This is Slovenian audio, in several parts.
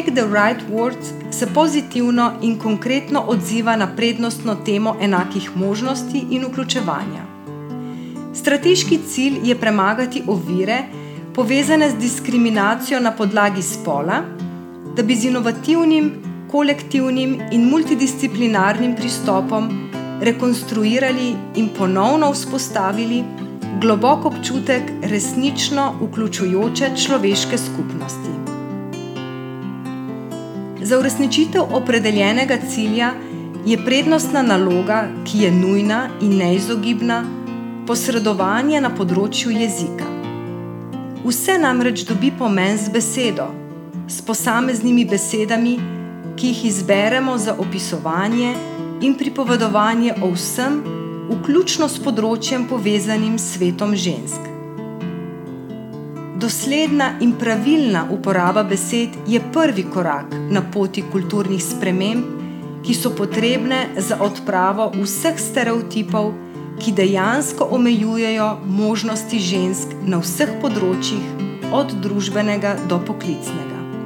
Make the Right Words se pozitivno in konkretno odziva na prednostno temo enakih možnosti in vključevanja. Strateški cilj je premagati ovire, povezane z diskriminacijo na podlagi spola, da bi z inovativnim, kolektivnim in multidisciplinarnim pristopom rekonstruirali in ponovno vzpostavili globok občutek resnično vključujoče človeške skupnosti. Za uresničitev opredeljenega cilja je prednostna naloga, ki je nujna in neizogibna, posredovanje na področju jezika. Vse namreč dobi pomen z besedo, s posameznimi besedami, ki jih izberemo za opisovanje in pripovedovanje o vsem, vključno s področjem povezanim s svetom žensk. Dosledna in pravilna uporaba besed je prvi korak na poti kulturnih sprememb, ki so potrebne za odpravo vseh stereotipov, ki dejansko omejujejo možnosti žensk na vseh področjih, od družbenega do poklicnega.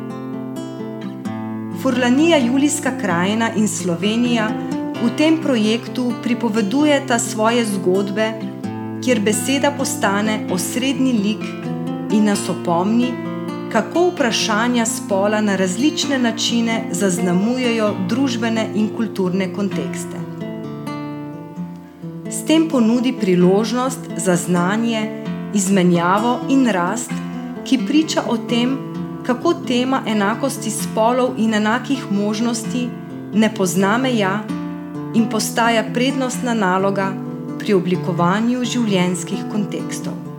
Furlanija Julijska krajina in Slovenija v tem projektu pripovedujeta svoje zgodbe, kjer beseda postane osrednji lik in nas opomni, kako vprašanja spola na različne načine zaznamujejo družbene in kulturne kontekste. S tem ponudi priložnost za znanje, izmenjavo in rast, ki priča o tem, kako tema enakosti spolov in enakih možnosti ne pozna meja in postaja prednostna naloga pri oblikovanju življenjskih kontekstov.